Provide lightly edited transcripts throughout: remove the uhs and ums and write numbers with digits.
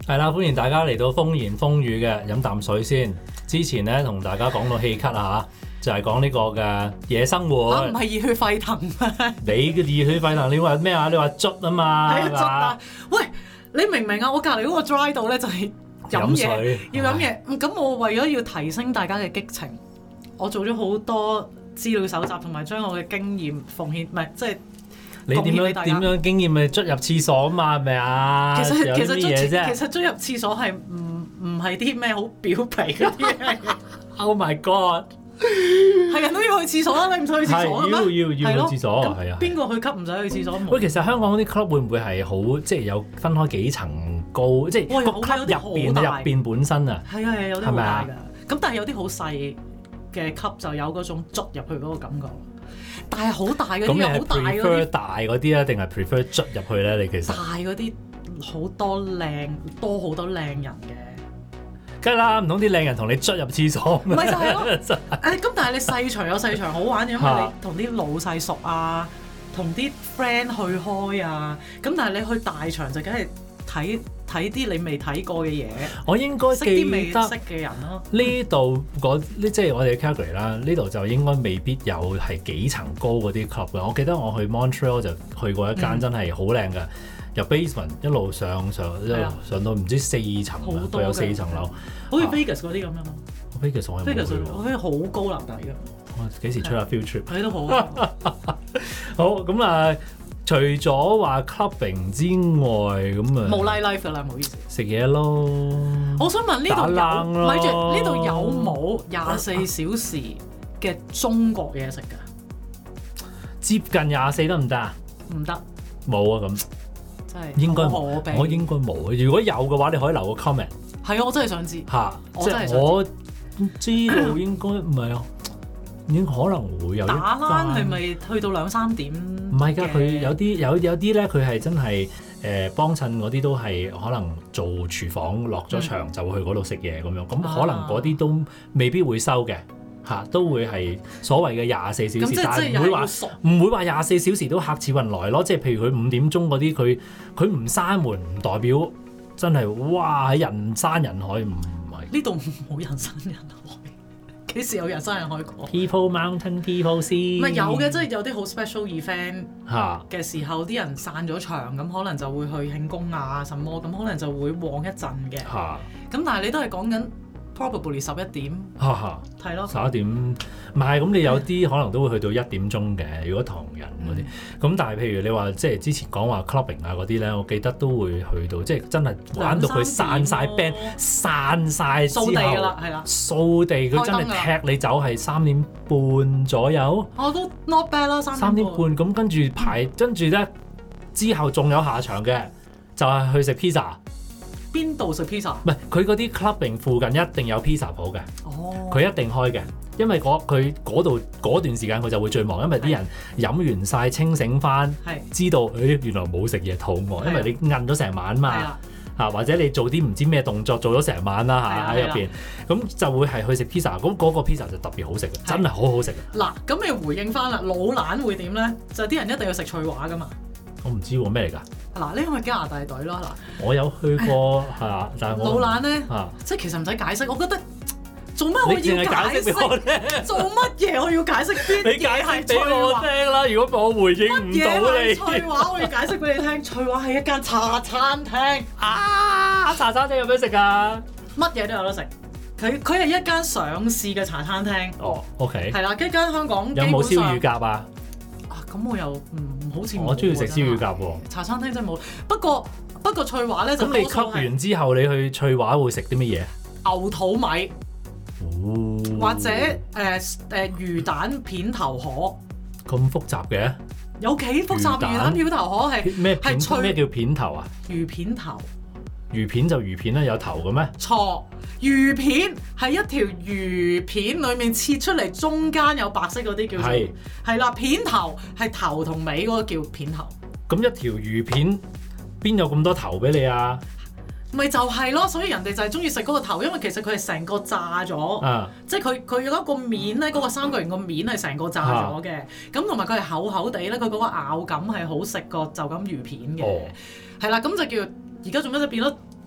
係啦，歡迎大家嚟到風言風語嘅飲啖水先。之前咧同大家講到氣咳啊，就係講呢個嘅夜生活。 唔係熱血沸騰咩？ 你嘅熱血沸騰，你話咩啊？你話捽啊嘛？ 係啊，捽啊！喂，你明唔明啊？我隔離嗰個 dry 度咧就係飲嘢，要飲嘢。咁我為咗要提升大家嘅激情，我做咗好多資料搜集，同埋將我嘅經驗奉獻，唔係即係。 你點樣經驗咪捽入廁所啊嘛？係咪啊？ 其實捽入廁所係唔係啲咩好表皮嗰啲嘢。 Oh my god！ 係人都要去廁所啦，你唔使去廁所嘅咩？ 要去廁所，係啊。 邊個去吸唔使去廁所？ 喂，其實香港啲 club 會唔會係好即係有分開幾層高？即係個 club 入邊本身啊？ 係啊，有啲好大㗎。咁但係有啲好細嘅級就有嗰種捽入去嗰個感覺。但係好大嗰啲，好大嗰啲。 prefer 大嗰啲啊，定係 prefer 捽入去咧？你其實大嗰啲好多靚人嘅， 梗係啦，唔通啲靚人同你捽入廁所咩？ 唔係就係咯。咁但係你細場有細場好玩嘅，因為你同啲老細熟啊，同啲 friend 去開啊。咁但係你去大場就梗係睇啲你未睇過嘅嘢， 我應該記得識啲未識嘅人咯。 呢度即係我哋嘅 Calgary 啦，呢度就應該未必有係幾層高嗰啲 club 嘅。我記得我去 Montreal 就去過一間真係好靚嘅，由 basement 一路上到唔知4層啊，佢有4層樓， 好似 Vegas 嗰啲咁樣咯。 Vegas 我係好高樓底嘅。 我幾時出下 field trip？ 睇都好。 好咁啊！除咗話 clubbing 之外，咁啊冇 life 㗎啦，唔好意思。 食嘢咯。 我想問呢度有，咪住呢度有冇24小時嘅中國嘢食㗎？ 接近24得唔得啊？ 唔得。 冇啊咁。 真係應該我應該冇。如果有嘅話，你可以留個 comment。 係啊，我真係想知。 嚇！ 我真係想知。 我知道應該唔係啊。已經可能會有打冷係咪去到2-3點？ 唔係㗎，佢有啲咧，佢係真係幫襯嗰啲都係可能做廚房落咗場就會去嗰度食嘢咁樣，咁可能嗰啲都未必會收嘅嚇，都會係所謂嘅24小時，但係唔會話24小時都客似雲來咯。即係譬如佢5點鐘嗰啲，佢唔閂門唔代表真係哇喺人山人海，唔係呢度冇人山人海。幾時有人生人開過 ？People Mountain People Sea 唔係有嘅，即係有啲好 special event 嘅時候，啲人散咗場，咁可能就會去慶功啊，什麼咁可能就會旺一陣嘅。咁但係你都係講緊 probably 11點，係咯 11點，唔係咁你有啲可能都會去到1點鐘嘅。如果唐人嗰啲，咁但係譬如你話即係之前講話 clubbing 啊嗰啲咧，我記得都會去到即係真係玩到佢散晒 band，散晒之後掃地㗎啦，係啦， 掃地佢真係踢你走係3點半左右。 我都 not bad 啦，3點半咁跟住咧之後仲有下場嘅，就係去食 pizza。 邊度食 pizza？ 唔係佢嗰啲 clubbing 附近一定有 pizza 鋪嘅，佢一定開嘅，因為佢嗰度嗰段時間佢就會最忙，因為啲人飲完晒清醒翻，知道原來冇食嘢肚餓，因為你韌咗成晚嘛，或者你做啲唔知咩動作做咗成晚啦喺入邊，咁就會係去食 pizza，咁嗰個 pizza 就特別好食嘅，真係好好食嘅。 嗱，咁你回應翻啦，老蘭會點咧？就啲人一定要食翠華噶嘛。 我唔知喎咩嚟㗎？ 嗱，呢個係加拿大隊咯。嗱， 我有去過係但係老蘭咧，即係其實唔使解釋，我覺得做乜我要解釋？做乜嘢我要解釋邊啲？ 你解釋俾我聽啦！如果我回應唔到你， 翠華我要解釋俾你聽。翠華係一間茶餐廳啊！茶餐廳有咩食㗎？ 乜嘢都有得食。佢係一間上市嘅茶餐廳。 哦 ，OK。 係啦，一間香港有冇燒乳鴿啊？ 咁我又好似我中意食燒乳鴿喎。 茶餐廳真係冇，不過翠華咧就咁你吸完之後，你去翠華會食啲乜嘢？ 牛肚米，或者魚蛋片頭河。 咁複雜嘅？ 有幾複雜？魚蛋片頭河係咩片？咩叫片頭啊？ 魚片頭。 魚片就魚片啦，有頭嘅咩？ 錯，魚片係一條魚片裡面切出嚟，中間有白色嗰啲叫做係啦。片頭係頭同尾嗰個叫片頭。 咁一條魚片邊有咁多頭俾你啊？ 咪就係咯，所以人哋就係中意食嗰個頭，因為其實佢係成個炸咗，即係佢有一個面咧，嗰個三角形個面係成個炸咗嘅，咁同埋佢係厚厚地咧，佢嗰個咬感係好食過就咁魚片嘅，係啦，咁就叫而家做咩就變咗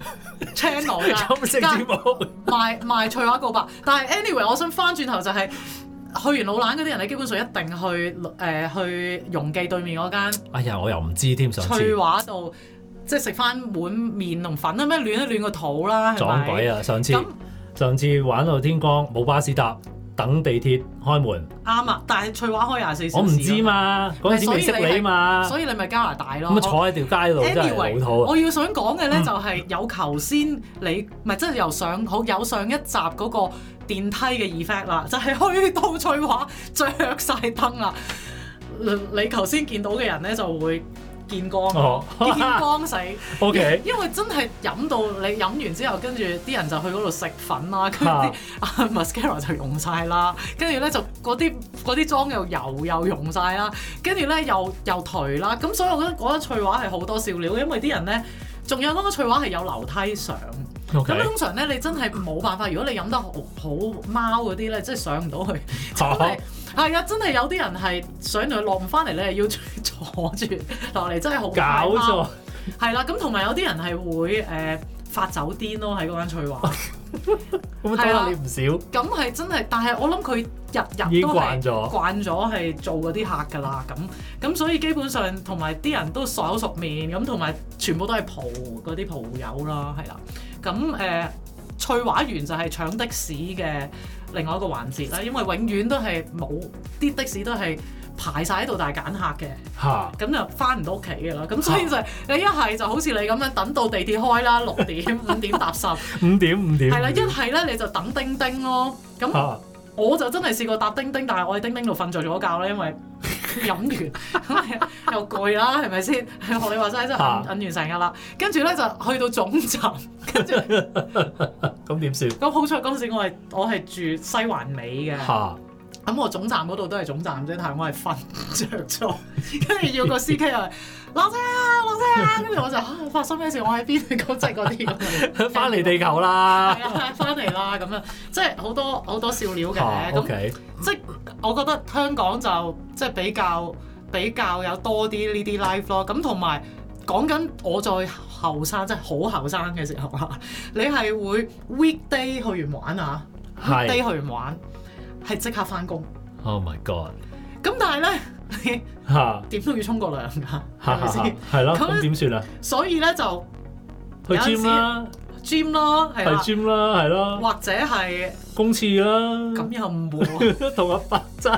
channel 㗎， 飲食節目賣翠華告白。但係 anyway， 我想翻轉頭就係、去完老蘭嗰啲人咧，基本上一定去容記對面嗰間。 哎呀，我又唔知添，上次翠華度即係食翻碗麵同粉啊咩，暖一暖個肚啦，係咪？ 撞鬼啊！上次玩到天光冇巴士搭，等地鐵開門。 啱啊！但係翠華開24小時。 我唔知嘛，嗰陣時未識你嘛， 所以你咪加拿大咯。 咁坐喺條街度真係老土啊！ 我要想講嘅咧就係有頭先你唔係即係有上一集嗰個電梯嘅 effect 啦，就係去到翠華着晒燈啦，你頭先見到嘅人咧就會見光，見光死。 OK， 因為真係飲到你飲完之後，跟住啲人就去嗰度食粉啦，跟住啲mascara 就溶晒啦，跟住咧就嗰啲妝又溶晒啦，跟住咧又頹啦，咁所以我覺得嗰間翠華係好多笑料，因為啲人咧仲有嗰間翠華係有樓梯上。咁 Okay. 通常咧，你真係冇辦法。如果你飲得好貓嗰啲咧，即係上唔到去，真係係啊！真係有啲人係上到去落唔翻嚟咧，要坐住落嚟，真係好搞錯。 係啦，咁同埋有啲人係會發酒癲咯，喺嗰間翠華。 咁多下你唔少。 咁係真係，但係我諗佢日都係慣咗係做嗰啲客㗎啦。咁所以基本上同埋啲人都熟口熟面，咁同埋全部都係嗰啲蒲友啦，係啦。咁翠華園就係搶的士嘅另外一個環節啦，因為永遠都係冇啲的士都係排晒喺度，但係揀客嘅，咁就翻唔到屋企嘅啦。咁所以就你一係就好似你咁樣等到地鐵開啦，6點5點搭10， 5點係啦，一係咧你就等叮叮咯。咁我就真係試過搭叮叮，但係我喺叮叮度瞓着咗覺啦，因為飲完又攰啦，係咪先？學你話齋真係瞓完成日啦，跟住咧就去到總站，跟住咁點算？ 咁好彩嗰陣時我係住西環尾嘅，咁我總站嗰度都係總站啫，但係我係瞓着咗，跟住要個司機啊落車啊，跟住我就發生咩事？我喺邊？咁即係嗰啲咁， 翻嚟地球啦， 係啊，翻嚟啦咁樣，即係好多笑料嘅。 咁即係我覺得香港就即係比較有多啲呢啲 life 咯。咁同埋講緊我再後生，即係好後生嘅時候啊，你係會 weekday 去完玩啊，weekday 去完玩係即刻翻工。 Oh my god！ 咁但係咧，你點都要沖個涼㗎，係咪先？ 係咯，咁點算啊？ 所以咧就去 gym 啦 ，gym 咯，係啦 ，gym 啦，係咯， 或者係公廁啦， 咁又唔會同阿伯爭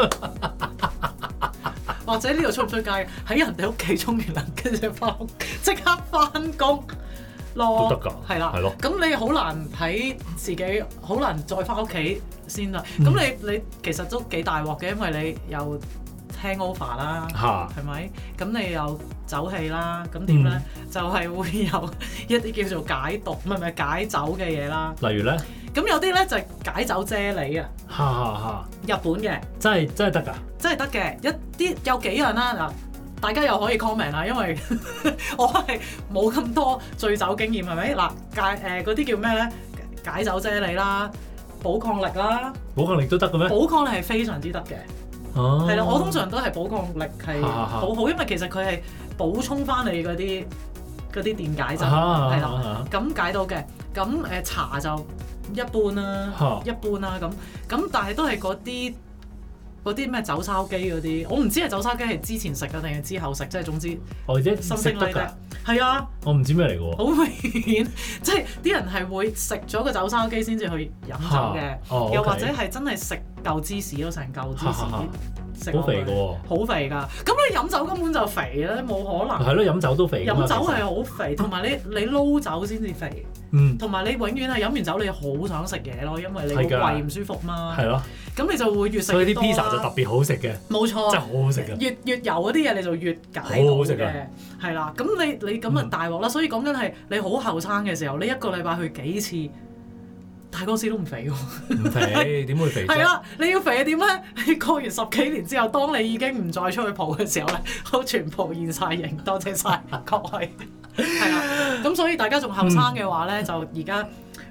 或者呢度出唔出街？喺人哋屋企沖完涼，跟住翻屋即刻翻工咯， 都得㗎， 係啦， 係咯。 咁你好難喺自己，好難再翻屋企先啦。咁你其實都幾大鑊嘅，因為你又 hangover 啦，係咪？咁你又走氣啦，咁點咧？就係會有一啲叫做解毒，唔係解酒嘅嘢啦。 例如咧？ 咁有啲咧就係解酒啫喱啊，日本嘅，真係得㗎，真係得嘅。有幾樣啦嗱，大家又可以 comment 啦，因為我係冇咁多醉酒經驗，係咪？嗱嗰啲叫咩咧？解酒啫喱啦，補抗力啦，補抗力都得嘅咩？補抗力係非常之得嘅，係啦，我通常都係補抗力係好好，因為其實佢係補充翻你嗰啲電解質，係啦，咁解到嘅。咁茶就一般啦，一般啦咁，但係都係嗰啲咩酒燒雞嗰啲，我唔知係酒燒雞係之前食嘅定係之後食，即係總之我即係食得㗎，係啊， 我唔知咩嚟嘅喎， 好明顯，即係啲人係會食咗個酒燒雞先至去飲酒嘅，又或者係真係食嚿芝士咯，成嚿芝士。好肥嘅喎，好肥㗎！咁你飲酒根本就肥咧，冇可能。係咯，飲酒都肥。飲酒係好肥，同埋你撈酒先至肥。同埋你永遠係飲完酒你好想食嘢咯，因為你個胃唔舒服嘛。係咯。咁你就會越食越多啦。所以啲 pizza 就特別好食嘅。冇錯。真係好好食嘅。越油嗰啲嘢你就越解到嘅。好好食嘅。係啦，咁你咁啊大鑊啦！所以講緊係你好後生嘅時候，你一個禮拜去幾次？大嗰時都唔肥喎，唔肥點會肥啫？係啦，你要肥係點咧？你過完10幾年之後，當你已經唔再出去蒲嘅時候咧，都全部現晒形。多謝晒各位，係啦。咁所以大家仲後生嘅話咧，就而家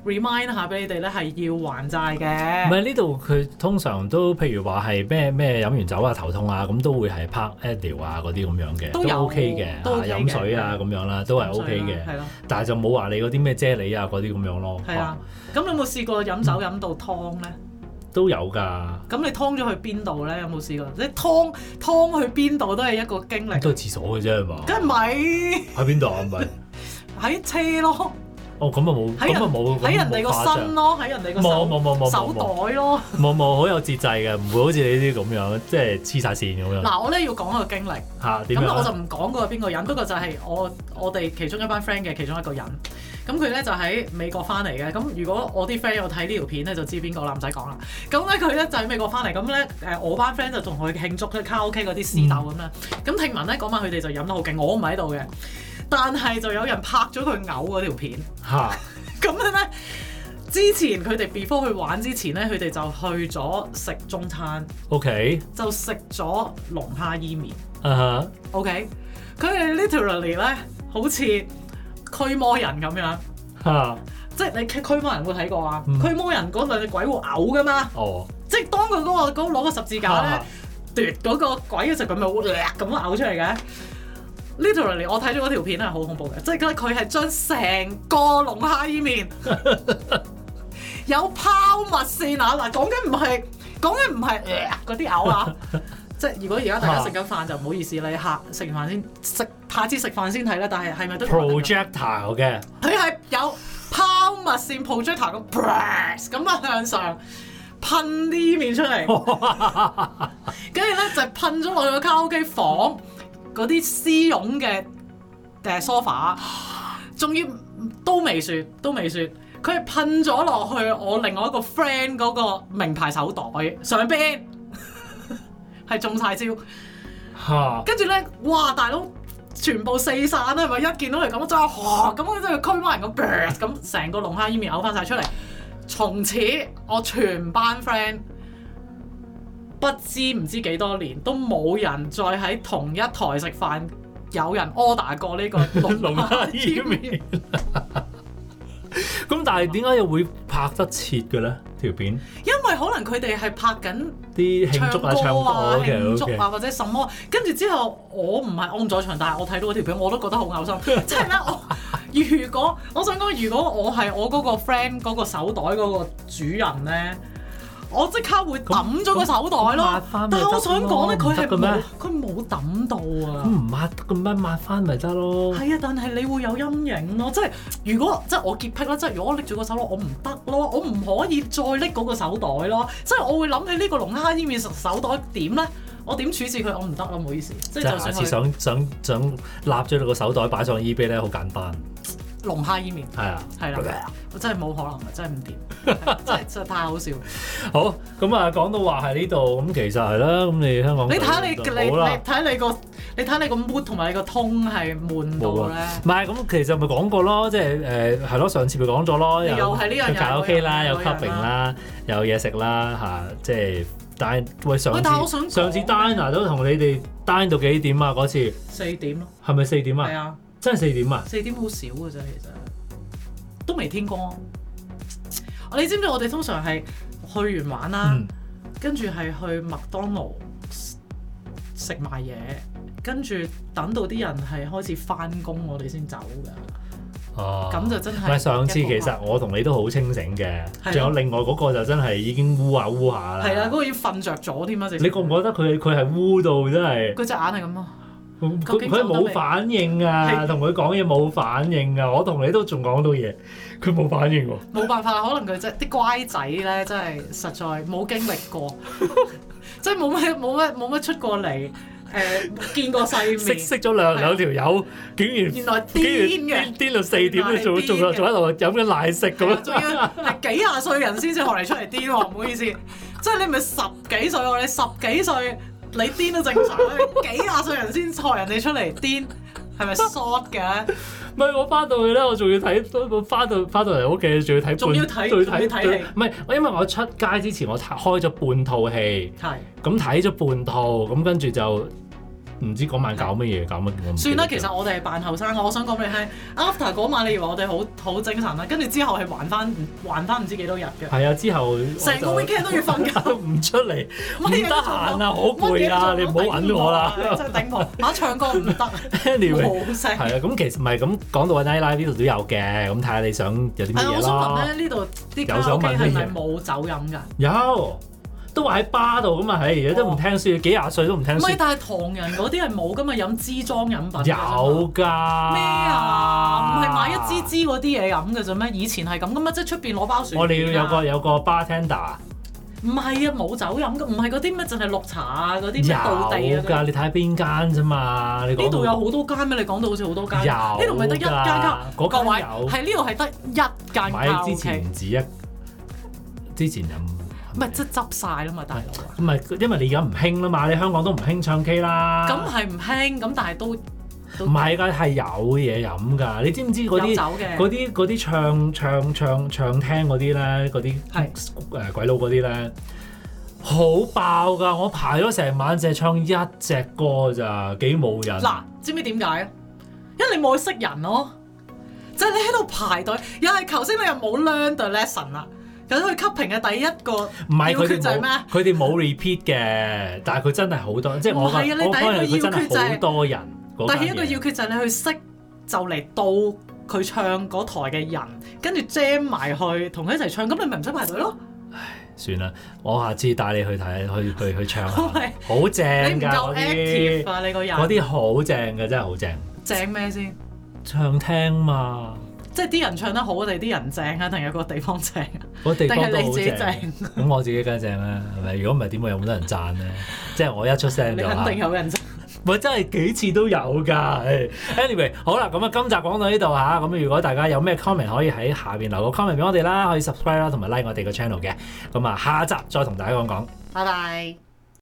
remind 下俾你哋咧係要還債唔嘅。 係呢度佢通常都譬如話係咩飲完酒啊頭痛啊咁都會係拍 Advil 啊嗰啲咁樣嘅， 都有 OK 嘅， 都 OK 嘅飲水啊咁樣啦，都係 OK 嘅。 係咯， 但係就冇話你嗰啲咩啫喱啊嗰啲咁樣咯。 係啊。咁你有冇試過飲酒飲到湯咧？ 都有㗎。 咁你湯咗去邊度咧？有冇試過？你湯去邊度都係一個經歷。 都係廁所嘅啫係嘛？ 梗係唔係喺邊度啊？唔係喺車咯。 哦，咁啊冇，咁啊冇， 喺人哋個身咯，喺人哋個手袋咯。 冇好有節制嘅，唔會好似你啲咁樣，即係黐晒線咁樣。 嗱，我咧要講一個經歷嚇點樣？ 咁我就唔講嗰個邊個人，不過就係我哋其中一班 friend 嘅其中一個人。咁佢咧就喺美國翻嚟嘅。咁如果我啲 friend 有睇呢條片咧，就知邊個啦，唔使講啦。咁咧佢咧就喺美國翻嚟，咁咧我班 friend 就同佢慶祝卡拉 OK 嗰啲私鬥咁啦。咁聽聞咧嗰晚佢哋就飲得好勁，我唔喺度嘅，但係就有人拍咗佢嘔嗰條片。 嚇！ 咁樣咧，之前佢哋 before 去玩之前咧，佢哋就去咗食中餐。 OK。 就食咗龍蝦伊麵。OK，佢哋 literally 咧好似驅魔人咁樣。即係你驅魔人有冇睇過啊？驅魔人嗰兩隻鬼會嘔噶嘛？即係當佢攞個十字架咧奪嗰個鬼嘅時候，佢咪會咁樣嘔出嚟嘅。Literally， 我睇咗嗰條片係好恐怖嘅，即係佢係將成個龍蝦伊麵有拋物線啊！嗱，講緊唔係嗰啲嘔啊！即係如果而家大家食緊飯就唔好意思，你食完飯先下次食飯先睇啦。但係咪都 projectile 嘅？ 佢係有拋物線 projector 咁啊向上噴啲麵出嚟，跟住咧就噴咗落去個卡拉 OK 房。嗰啲絲絨嘅sofa，仲要都未算，佢係噴咗落去我另外一個 friend 嗰個名牌手袋上邊，係中晒招。跟住咧，哇！大佬全部四散啦，係咪？一見到佢咁，真係咁樣真係驅魔人咁成個龍蝦伊麵嘔翻晒出嚟。從此我全班 friend。不知幾多年都冇人再喺同一台食飯，有人 order 過呢個龍蝦伊麵。 咁但係點解又會拍得切嘅咧條片？ 因為可能佢哋係拍緊啲慶祝啊、唱歌慶祝啊或者什麼，跟住之後我唔在場，但係我睇到嗰條片我都覺得好嘔心。即係咧，如果我想講，如果我係我嗰個 friend 嗰個手袋嗰個主人咧。我即刻會抌咗個手袋咯，但係我想講咧，佢冇抌到啊！ 咁唔抹得嘅咩？抹翻咪得咯。 係啊，但係你會有陰影咯。即係如果即係我潔癖啦，即係如果我拎住個手袋，我唔得咯，我唔可以再拎嗰個手袋咯。即係我會諗起呢個龍蝦伊麵手袋點咧？我點處置佢？我唔得咯，唔好意思。即係就算下次想立咗你個手袋擺上 eBay 咧，好簡單。 龍蝦伊麵係啦，我真係冇可能嘅，真係唔掂，真係太好笑。 好咁啊，講到話喺呢度，咁其實係啦，咁你香港你睇下你睇你個 mood 同埋你個 tone 係悶到咧。 唔係咁，其實咪講過咯，即係係咯，上次咪講咗咯， 又係呢樣嘢， 卡拉 OK 啦，有 clubbing 啦，有嘢食啦嚇，即係但係上次 diner 都同你哋 dine 到幾點啊？嗰次 4點咯， 係咪4點啊？ 係啊。 真係4點啊！4 點好少嘅啫，其實都未天光。你知唔知我哋通常係去完玩啦，跟住係去麥當勞食埋嘢，跟住等到啲人係開始翻工，我哋先走㗎。哦，咁就真係。唔係上次其實我同你都好清醒嘅，仲有另外嗰個就真係已經烏下啦。係啊，嗰個已經瞓着咗添啊！你覺唔覺得佢係烏到真係？佢隻眼係咁啊！佢冇反應啊，同佢講嘢冇反應啊，我同你都仲講到嘢，佢冇反應喎。冇辦法，可能佢即係啲乖仔咧，真係實在冇經歷過，即係冇乜出過嚟，見過世面。識咗兩條友，竟然原來癲到4點都仲喺度飲緊奶昔咁樣，仲要係幾廿歲人先至學嚟出嚟癲喎，唔好意思，即係你咪10幾歲喎，你10幾歲。你癲都正常，幾廿歲人先學人哋出嚟癲，係咪 short 嘅？唔係我翻到去咧，我仲要睇，我翻到嚟屋企仲要睇，仲要睇戲。唔係，因為我出街之前我開咗半套戲，係咁睇咗半套，咁跟住就唔知嗰晚搞乜嘢，搞乜我唔記得咗。 算啦，其實我哋係扮後生，我想講俾你聽，after 嗰晚你以為我哋好精神啦，跟住之後係還翻唔知幾多日嘅。 係啊，之後成個 weekend 都要瞓覺， 唔出嚟，唔得乜嘢都做閒啊，好攰啊，你唔好揾我啦。 真係頂唔順，唱歌唔得 Anyway， 冇聲。 係啊，咁其實唔係咁講到 Night Life 呢度都有嘅，咁睇下你想有啲乜嘢我想問啦。 咧，呢度啲卡拉 OK 係咪冇酒飲㗎？ 有，都話喺巴度咁啊，係而家都唔聽書，幾廿歲都唔聽書。 唔係，但係唐人嗰啲係冇㗎嘛，飲支裝飲品。 有㗎。 咩啊？唔係買一支嗰啲嘢飲嘅啫咩？以前係咁㗎嘛，即係出邊攞包薯片啊。 我哋要有個 bartender。 唔係啊，冇酒飲㗎，唔係嗰啲咩，淨係綠茶啊嗰啲咩道地啊。 有㗎，你睇下邊間啫嘛？你講呢度有好多間咩？你講到好似好多間。 有呢度咪得一間卡？ 嗰間各位有係呢度係得一間卡拉 OK。 之前唔止一，之前有。 唔係即係執晒啦嘛，大佬。 唔係，因為你而家唔興啦嘛，你香港都唔興唱 K 啦。 咁係唔興，咁但係都唔係㗎，係有嘢飲㗎。你知唔知嗰啲唱廳嗰啲咧，嗰啲鬼佬嗰啲咧，好爆㗎！我排咗成晚淨係唱一隻歌咋，幾冇癮。 嗱，知唔知點解啊？因為你冇去識人咯，就係你喺度排隊，又係頭先你又冇 learn the lesson 啦。咁佢 cupping 嘅第一個要訣就係咩？ 佢哋冇 repeat 嘅，但係佢真係好多，即係我覺得佢真係好多人。 第一個要訣就係你去識就嚟到佢唱嗰台嘅人，跟住 jam 埋去同佢一齊唱，咁你咪唔使排隊咯。 唉，算啦，我下次帶你去睇去唱下，好正㗎。 你唔夠 active 啊！你個人嗰啲好正嘅，真係好正。 正咩先？ 唱廳嘛。 即係啲人唱得好，定係啲人正啊？定係個地方正啊？ 個地方都好正。 定係你自己正？ 咁我自己梗係正啦，係咪？如果唔係點會有咁多人讚咧？即係我一出聲就你肯定有人讚。 喂，真係幾次都有㗎。Anyway， 好啦，咁啊，今集講到呢度嚇。咁如果大家有咩 comment 可以喺下邊留個 comment 俾我哋啦，可以 subscribe 啦，同埋 like 我哋個 channel 嘅。咁啊，下一集再同大家講講。 拜拜。